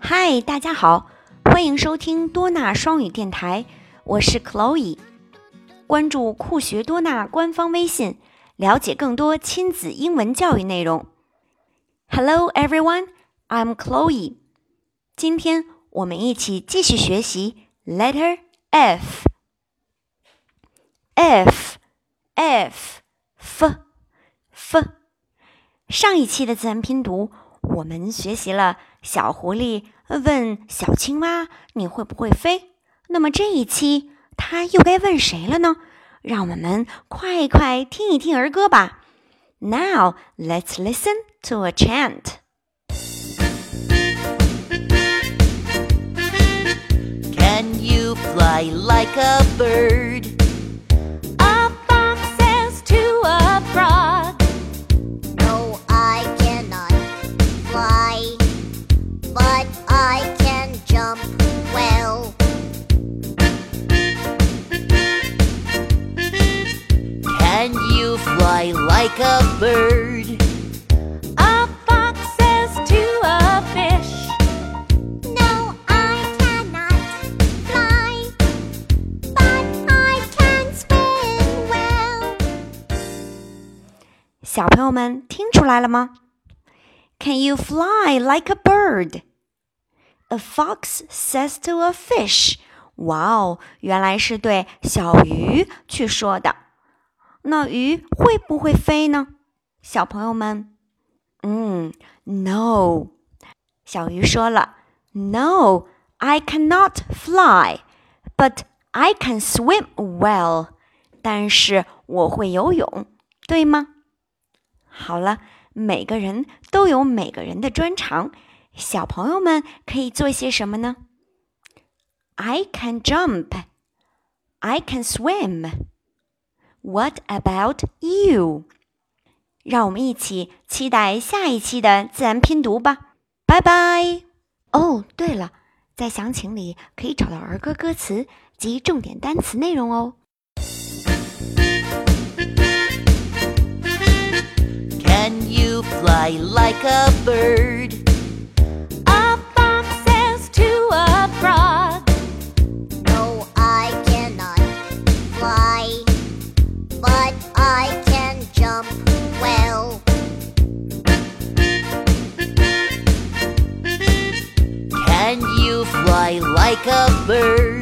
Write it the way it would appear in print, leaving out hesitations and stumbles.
嗨，大家好，欢迎收听多纳双语电台，我是 Chloe。关注酷学多纳官方微信，了解更多亲子英文教育内容。Hello everyone, I'm Chloe。今天我们一起继续学习 Letter F。上一期的自然拼读，我们学习了小狐狸问小青蛙你会不会飞，那么这一期它又该问谁了呢？让我们快听一听儿歌吧。 Now let's listen to a chant. Can you fly like a bird? A fox says to a frog. No, I cannot fly, but I can jump well. Can you fly like a bird? A fox says to a fish. No, I cannot fly, but I can swim well. 小朋友们听出来了吗？ Can you fly like a bird? A fox says to a fish. 哇哦，原来是对小鱼去说的。那鱼会不会飞呢？小朋友们，No。小鱼说了 No, I cannot fly, but I can swim well. 但是我会游泳，对吗？好了，每个人都有每个人的专长，小朋友们可以做些什么呢？ I can jump. I can swim. What about you? 让我们一起期待下一期的自然拼读吧。拜拜。哦，对了，在详情里可以找到儿歌歌词及重点单词内容哦。 Can you fly like a bird? A fox says to a frog. No, I cannot fly, but I can jump well. Can you fly like a bird?